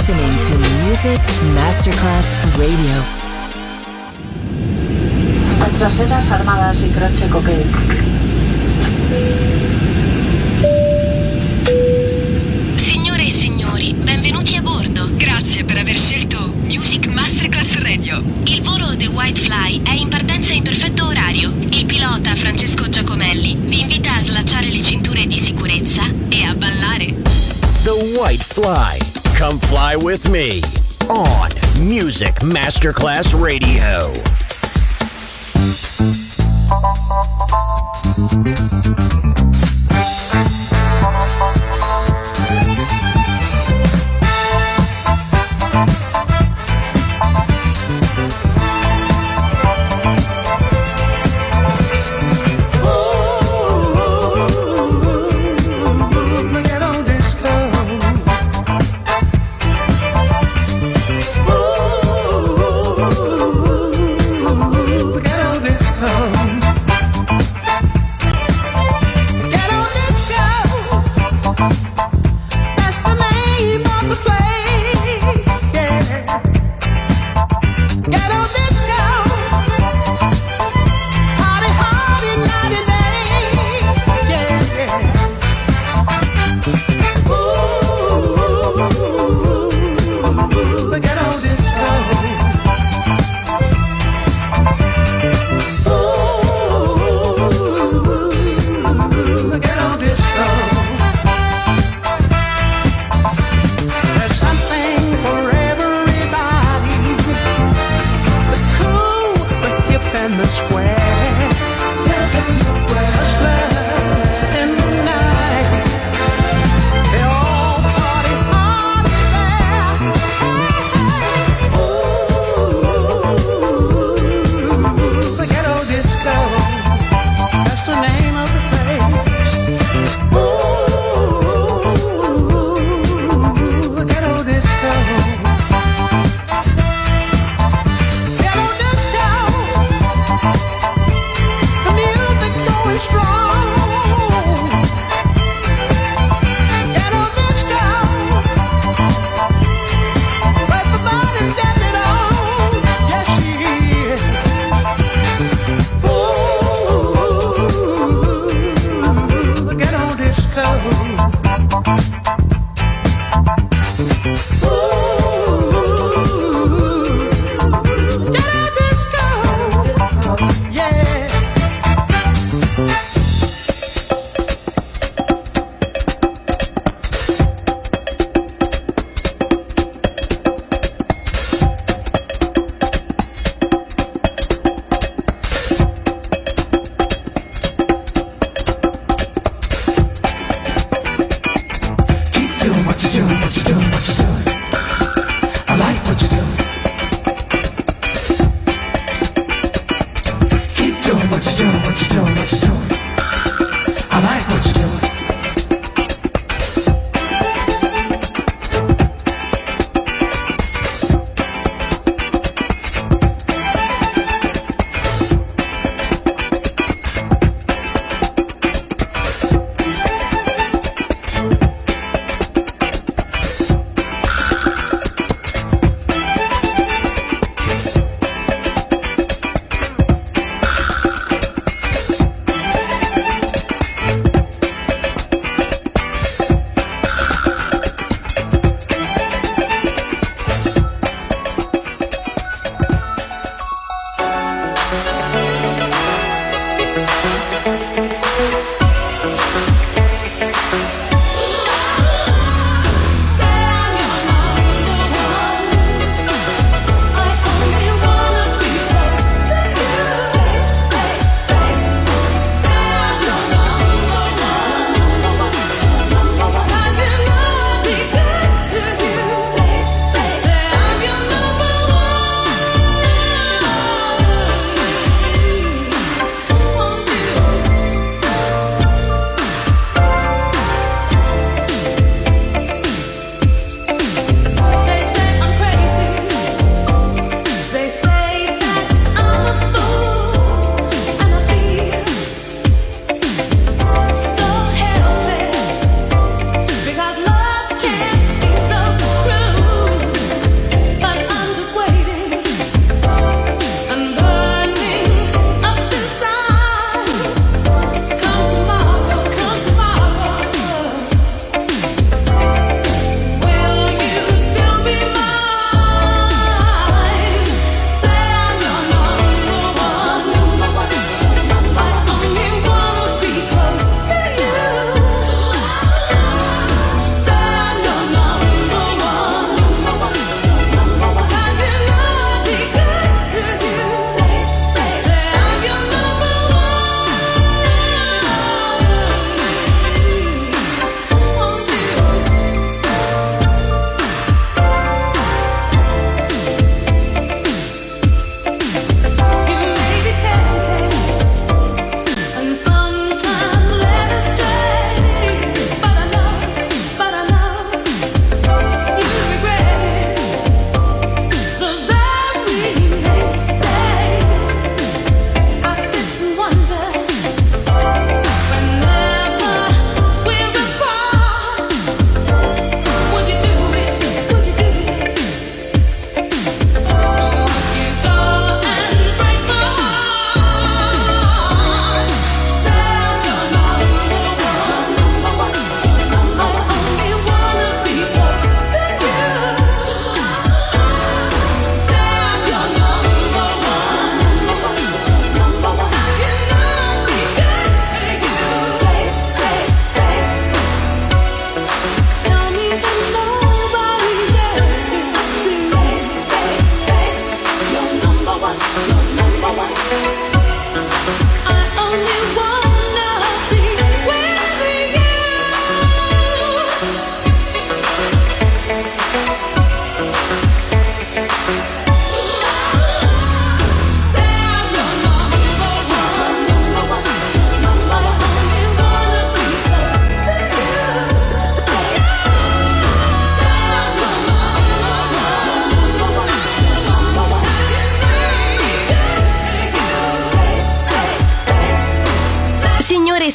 listening to Music Masterclass Radio. Retrocedas armadas y croce coque. Signore e signori, benvenuti a bordo. Grazie per aver scelto Music Masterclass Radio. Il volo The White Fly è in partenza in perfetto orario. Il pilota Francesco Giacomelli vi invita a slacciare le cinture di sicurezza e a ballare. The White Fly. Come fly with me on Music Masterclass Radio.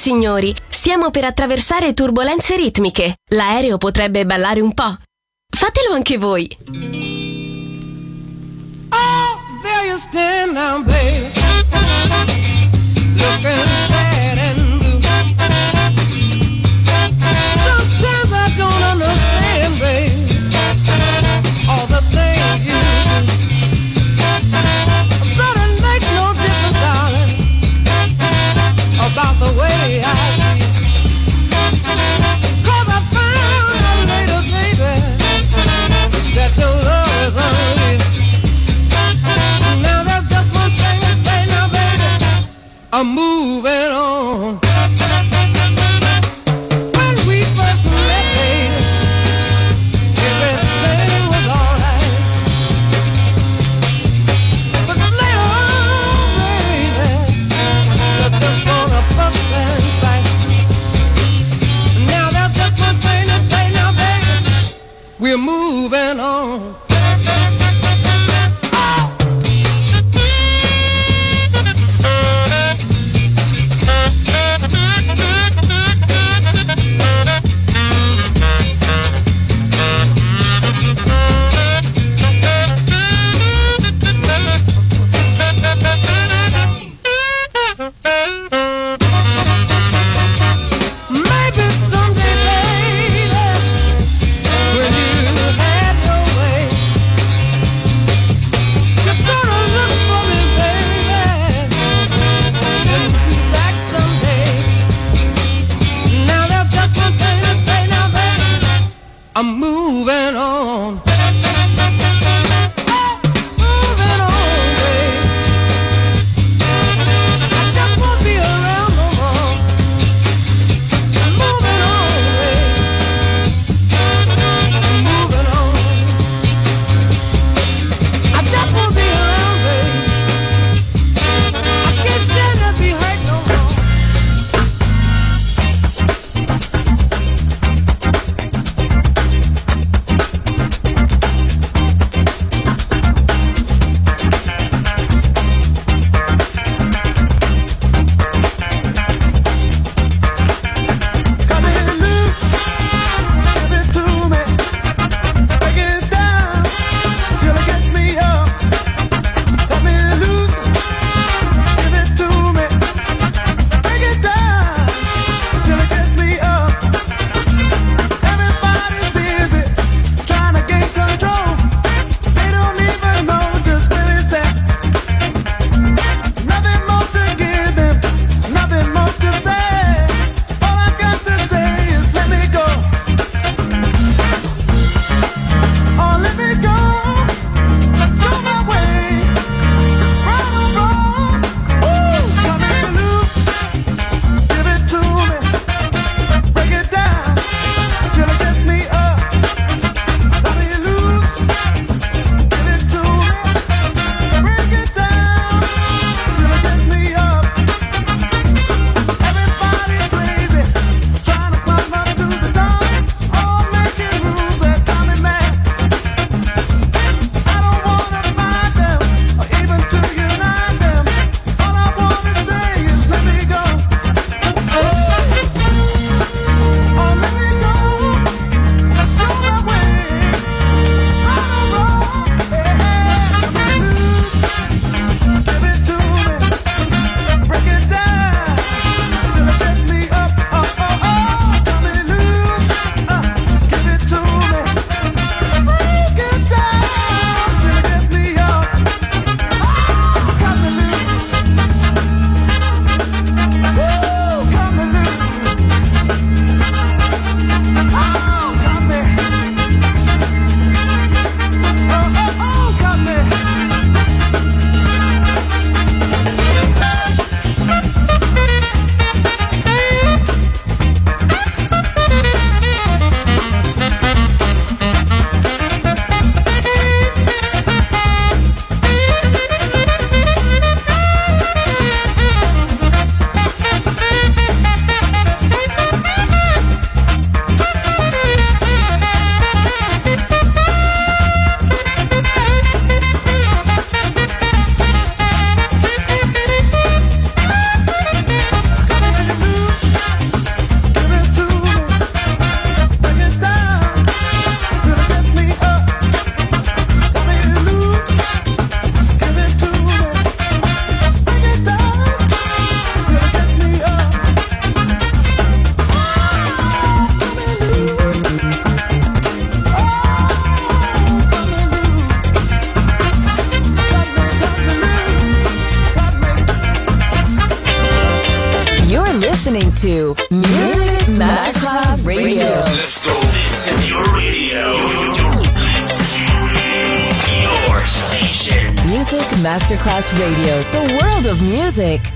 signori, stiamo per attraversare turbolenze ritmiche. L'aereo potrebbe ballare un po'. Fatelo anche voi. Oh, there you stand now, baby. Looking sad and blue. Sometimes I don't understand, baby, all the things you do. But it makes no difference, darling, about the way I feel. 'Cause I found out later, baby, that your love is unreal. Now there's just one thing to say now, baby, I'm moving on. When we first met, baby, everything was alright. But later on, baby, you're just gonna fuss and fight. Now there's just one thing to say now, baby, we're moving on. Maybe someday, baby, when you have your way, you're gonna look for me, baby, and be back someday. Now there's just one thing to say now, baby, I'm moving on. Moving on, baby. I just won't be around no more. I'm moving on, baby. Moving on. I just won't be around, baby. I can't stand to be hurt no more. to Music Masterclass Radio. Let's go. This is your radio. Your station. Music Masterclass Radio. The world of music.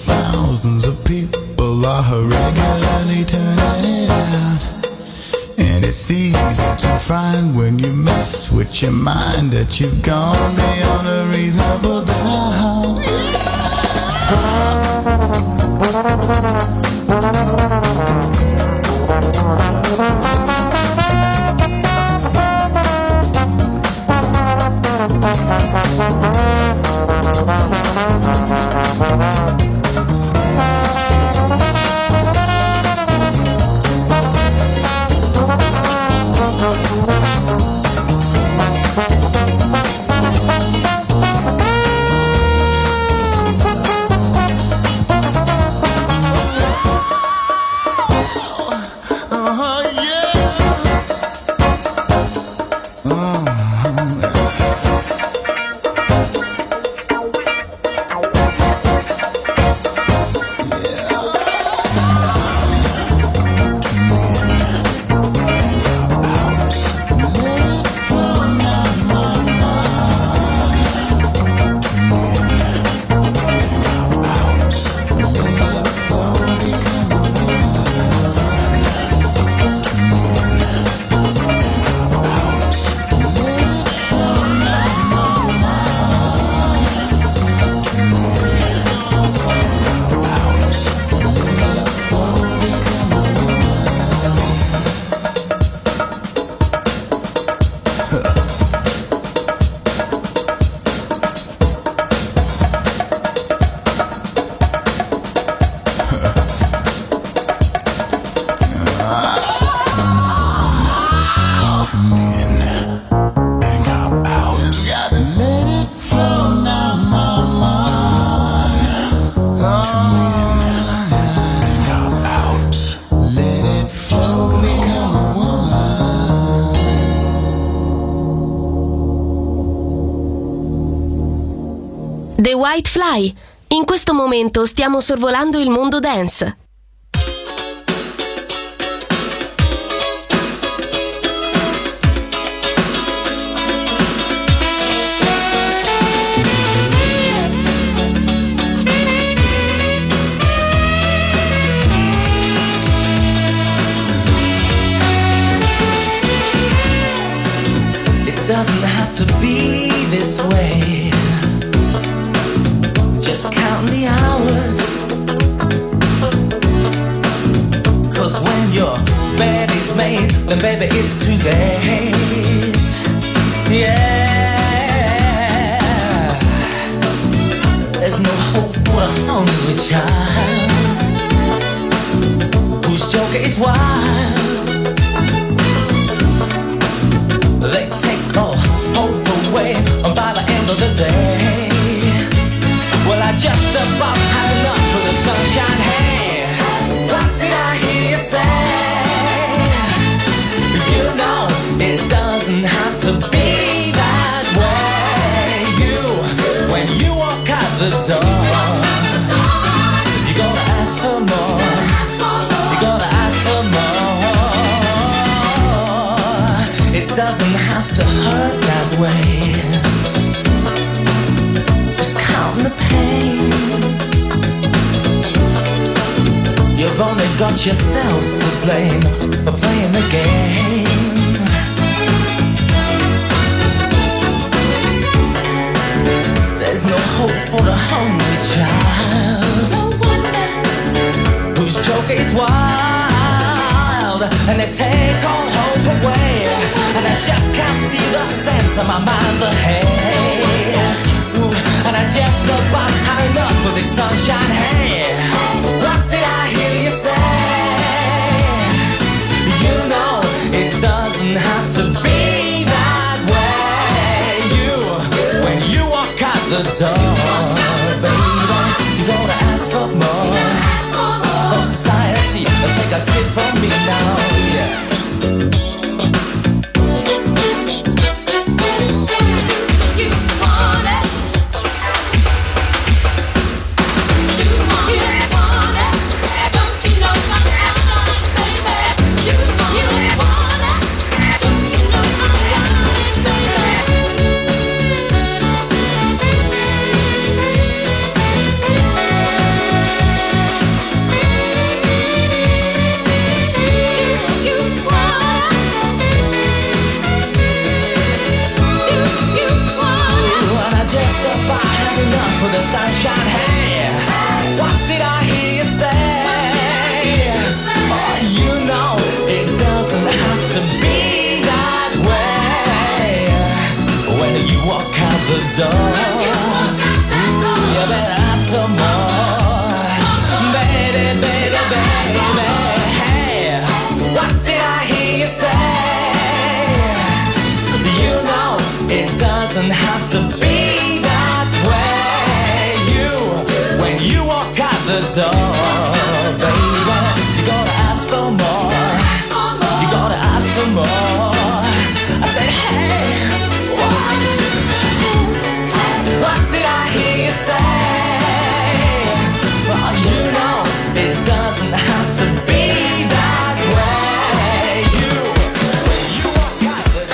thousands of people are regularly turning it out. And it's easy to find when you mess with your mind that you've gone beyond a reasonable doubt. The White Fly. In questo momento stiamo sorvolando il mondo dance. It doesn't have to be this way. Just count the hours, 'cause when your bed is made, then baby it's too late. Yeah, there's no hope for a hungry child whose joke is wild. They take all hope away by the end of the day. Well, I just about had enough of the sunshine. Hey, what did I hear you say? You know, it doesn't have to be that way. When you walk out the door, you gotta ask for more. You gotta ask for more. It doesn't have to hurt that way. The pain. You've only got yourselves to blame for playing the game. There's no hope for the hungry child, no wonder, whose joke is wild, and they take all hope away, and I just can't see the sense of my mind's ahead. And I just about had enough of this sunshine. Hey, what did I hear you say? You know, it doesn't have to be that way. When you walk out the door, baby, you gotta ask for more. From society, take a tip from me now, yeah. doesn't have to be that way. When you walk out the door, baby, you gotta ask for more. You gotta ask for more. I said, hey, what did I hear you say? Well, you know it doesn't have to be that way. When you walk out the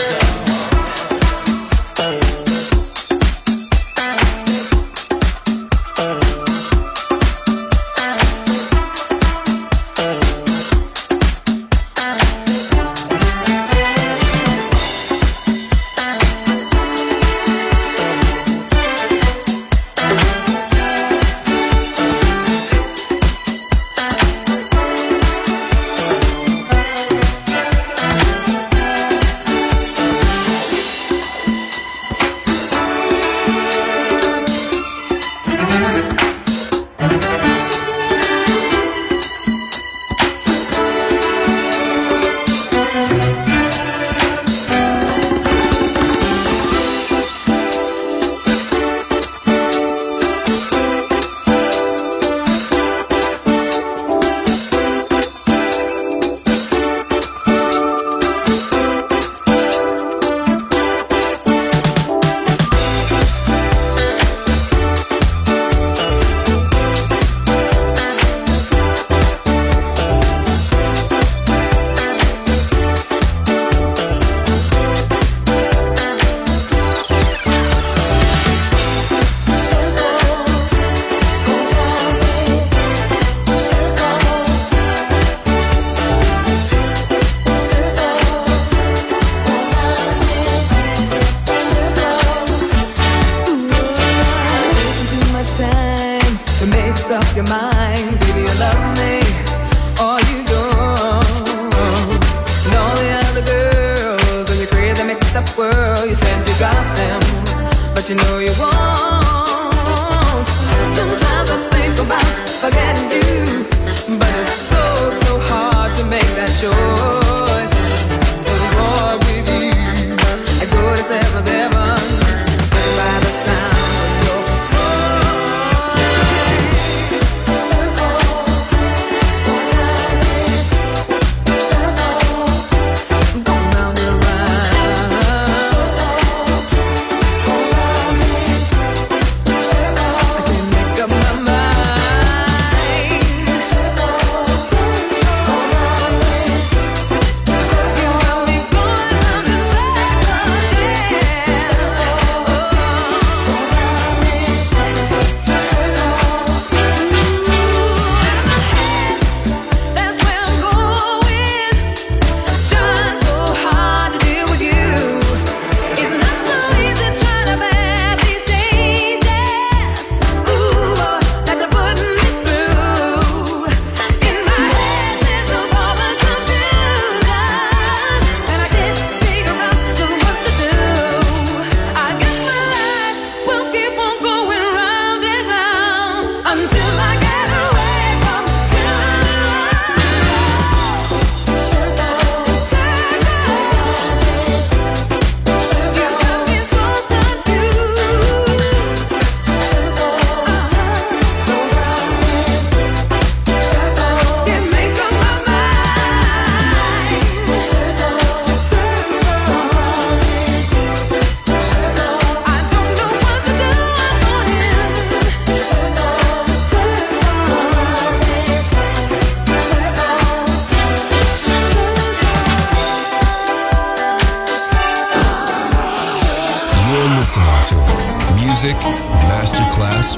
Music Masterclass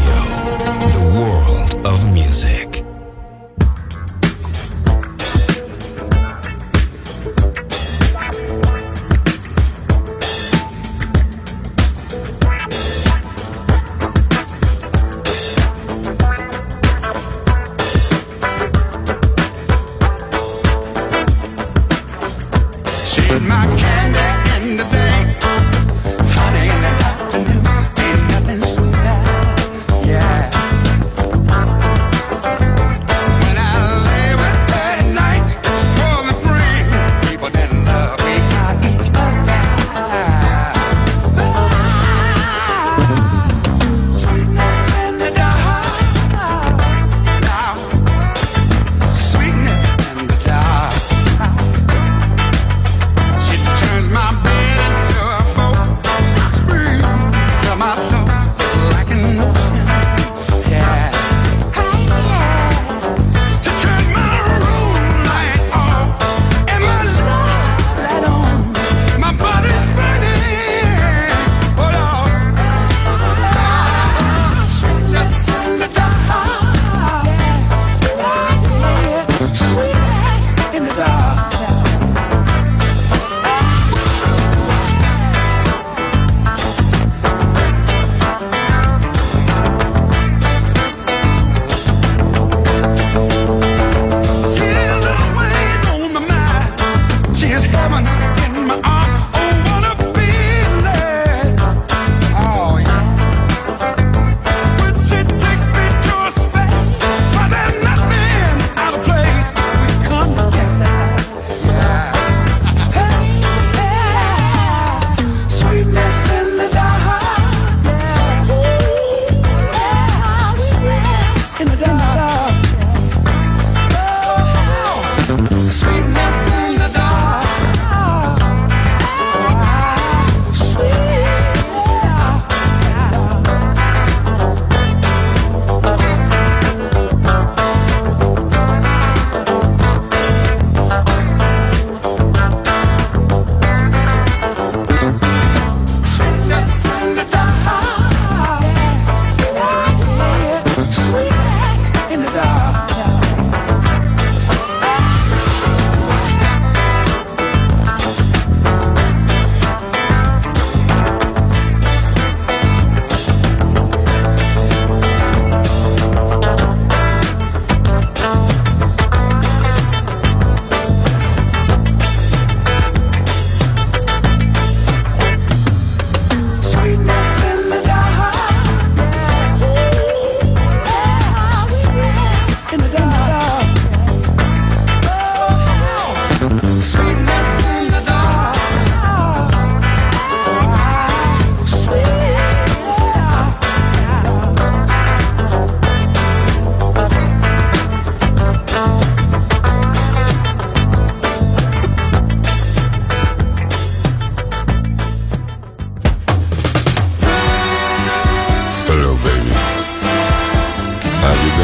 Radio, the world of music. Honey in the afternoon, ain't nothing sweeter. Yeah.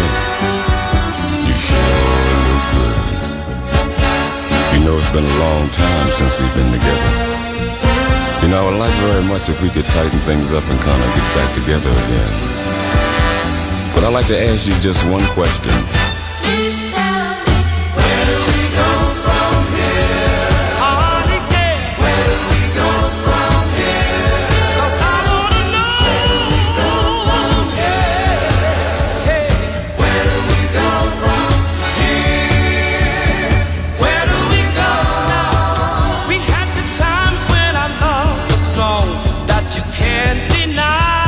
You sure look good. You know, it's been a long time since we've been together. You know, I would like very much if we could tighten things up and kind of get back together again. But I'd like to ask you just one question. Please tell me, where do we go from here? Honey, yeah. Where do we go from here? 'Cause I wanna know. Where do we go from here? Hey, where do we go from here? Where do we go now? We had the times when our love was strong that you can't deny.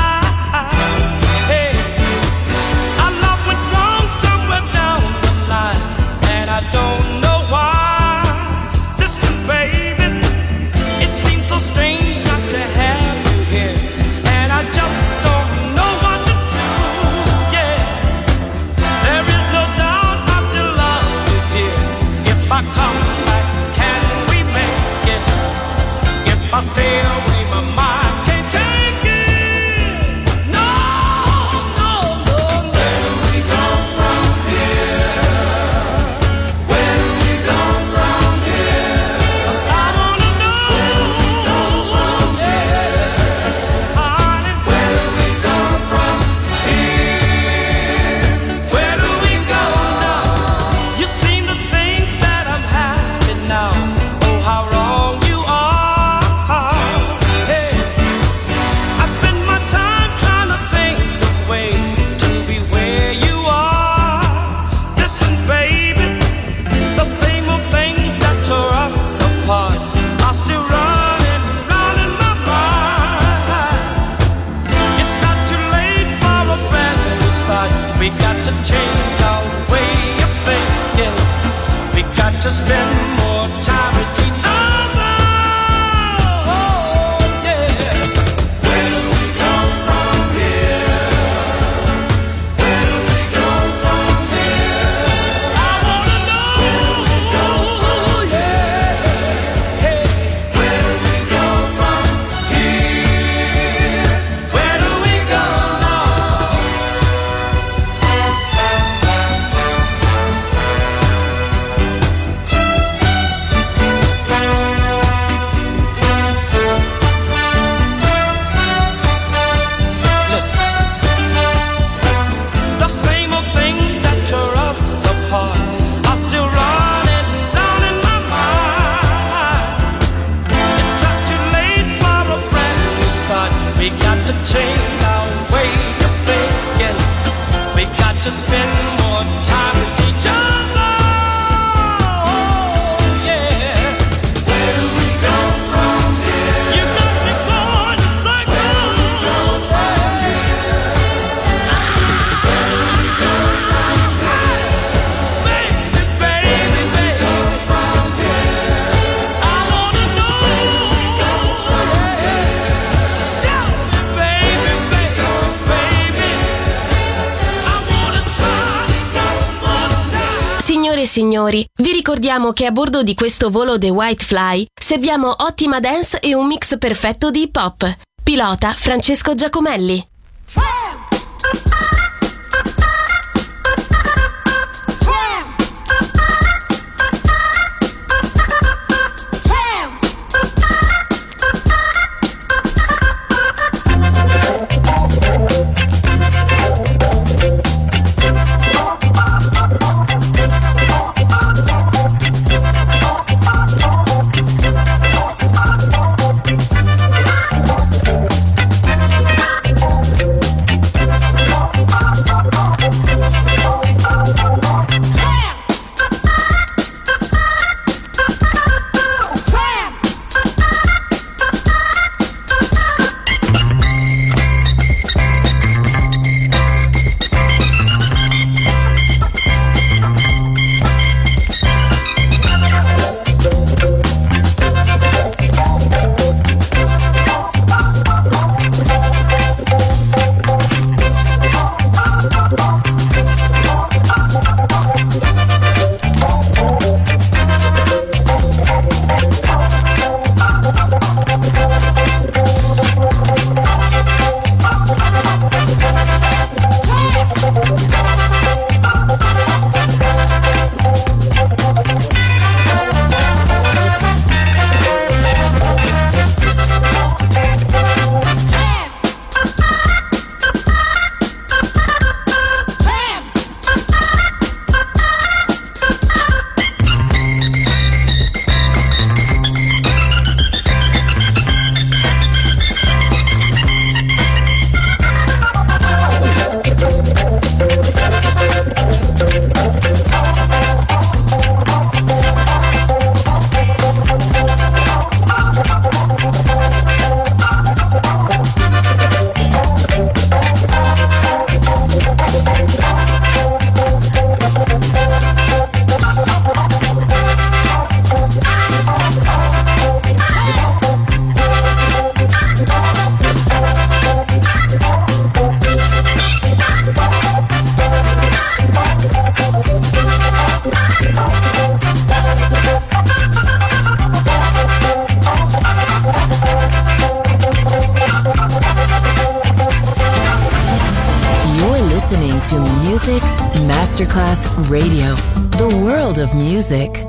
Hey, our love went wrong somewhere down the line, and I don't know why. Listen, baby, it seems so strange not to have you here, and I just don't know what to do. Yeah, there is no doubt I still love you, dear. If I come back, can we make it? If I stay away, my mind can't take it. No, no, no, no. Where do we go from here? Where do we go from here? 'Cause I wanna know. Yeah, honey. Where do we go from here? Where do we go now? You seem to think that I'm happy now. Oh, how wrong you are. Hey, I spend my time trying to think of ways to be where you are. Listen, baby, the same old things that tore us apart are still running round in my mind. It's not too late for a brand new start. We got to change our way of thinking. We got to spend more time with each other. Oh, yeah. Where do we go from here? Where do we go from here? I wanna know. Where do we go from here? Hey, where do we go from here? Where do we go now? Listen, the same old things that tore us apart are still running down in my mind. It's not too late for a brand new start. We got to change our way of thinking. We got to spend more time with each other. Oh, yeah. Where do we go from here? You got me going in circles. Where do we go from here? Baby, baby, baby. From here. I wanna know. Tell me, baby, baby, baby. I wanna try one more time. Signore e signori, vi ricordiamo che a bordo di questo volo The White Fly serviamo ottima dance e un mix perfetto di hip hop. Pilota Francesco Giacomelli. Masterclass Radio, the world of music.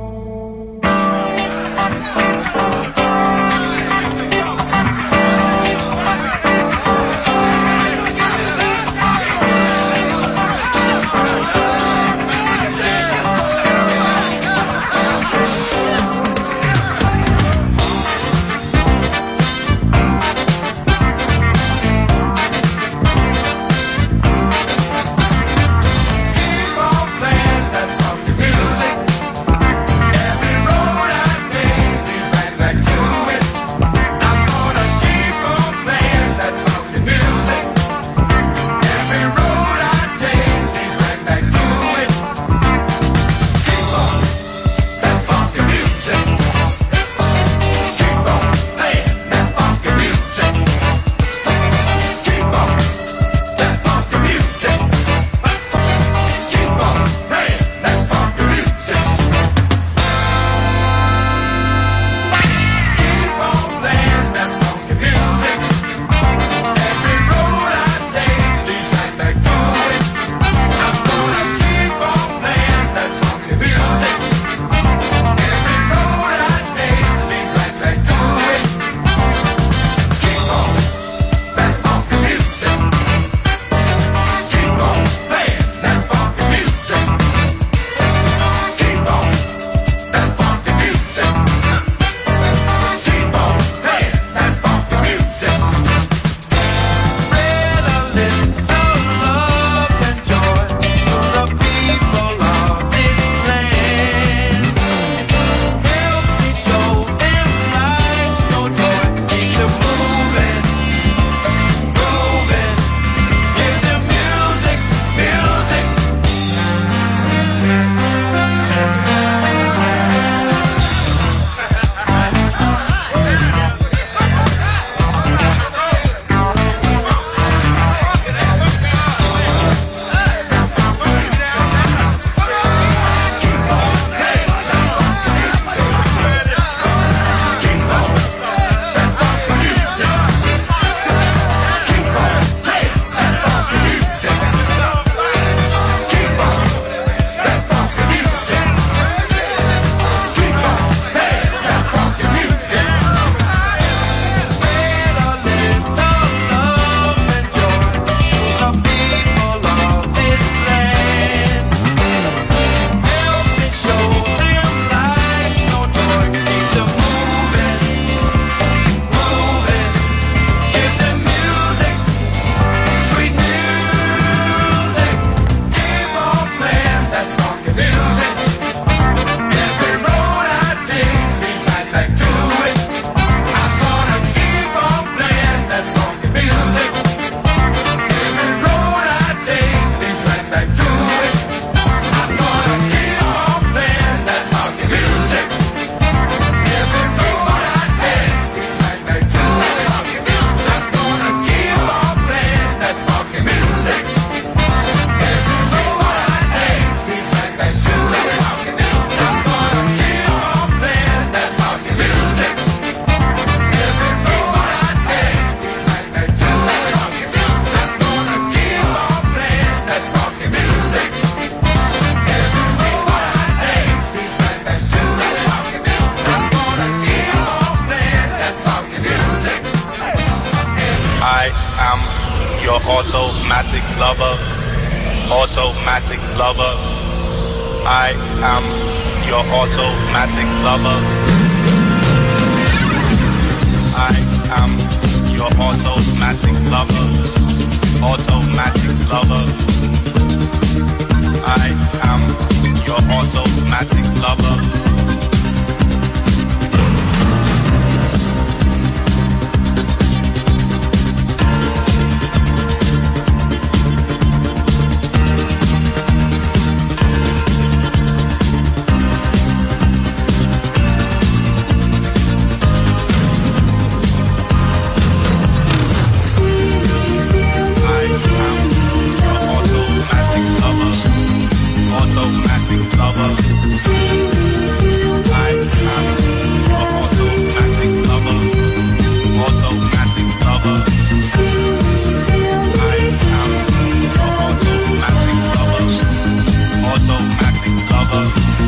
automatic lover, automatic lover. I am your automatic lover. I am your automatic lover, automatic lover. I am your automatic lover.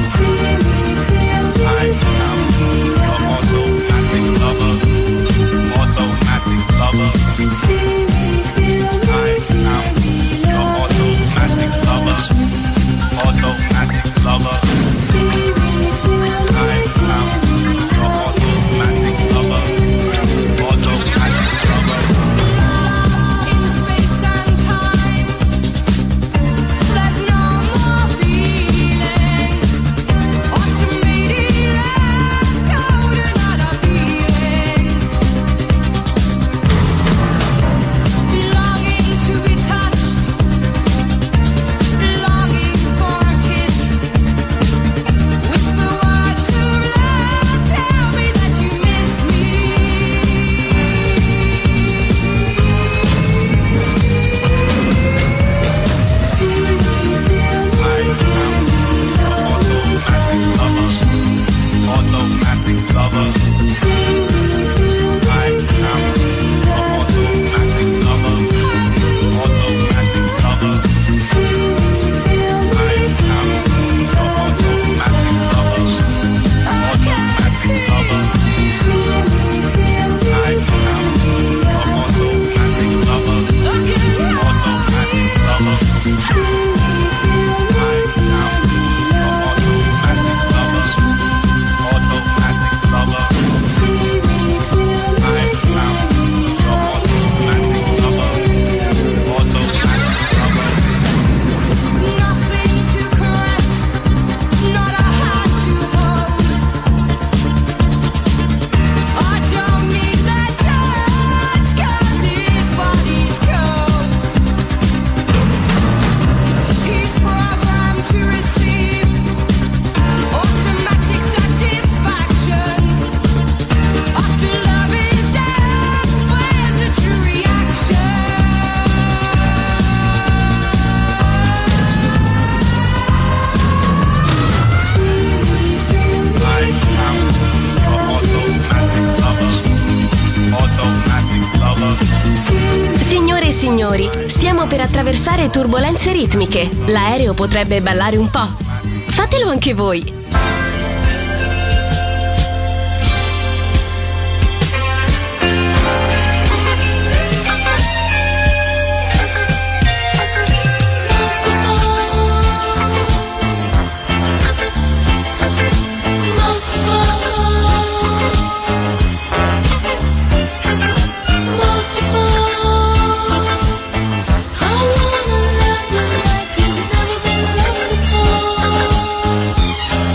Signori, stiamo per attraversare turbolenze ritmiche. L'aereo potrebbe ballare un po'. Fatelo anche voi. I wanna love you like you've never been loved before.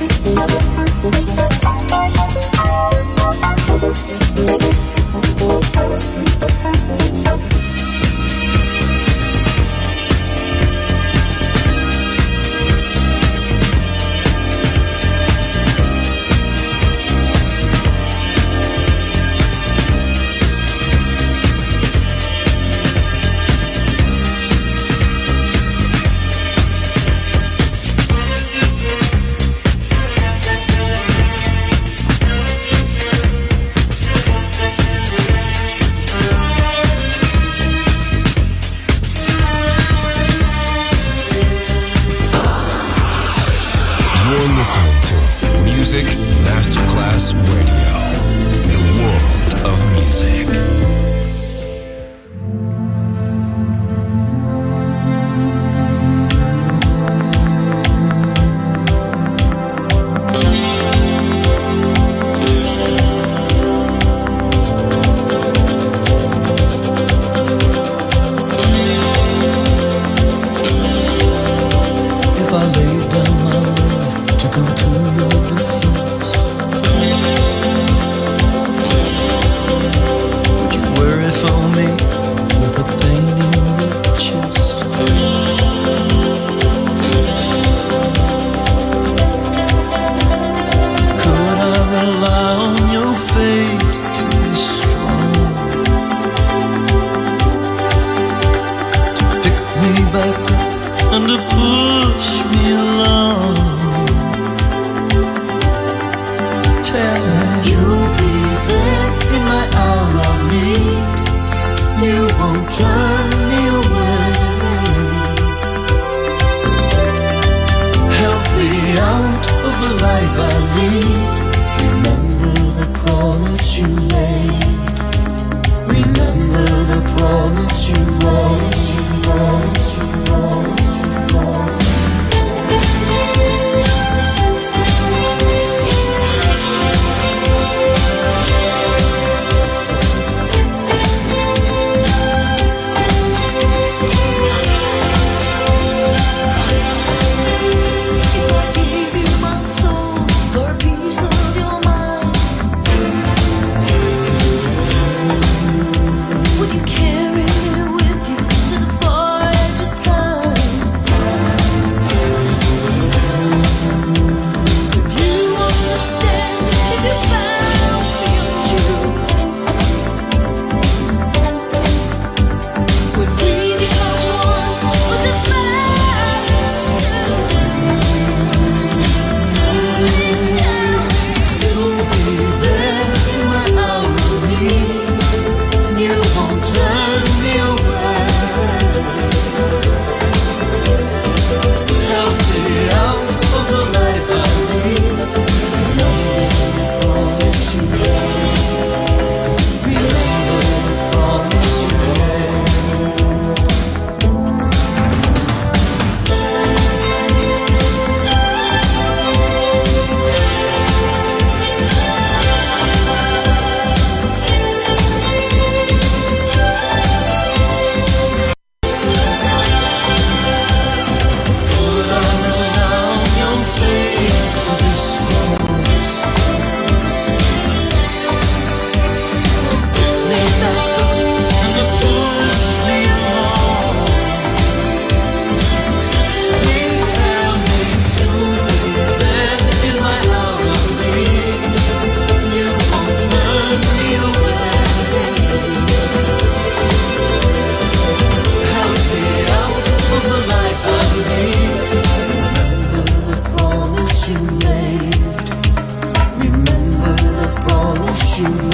you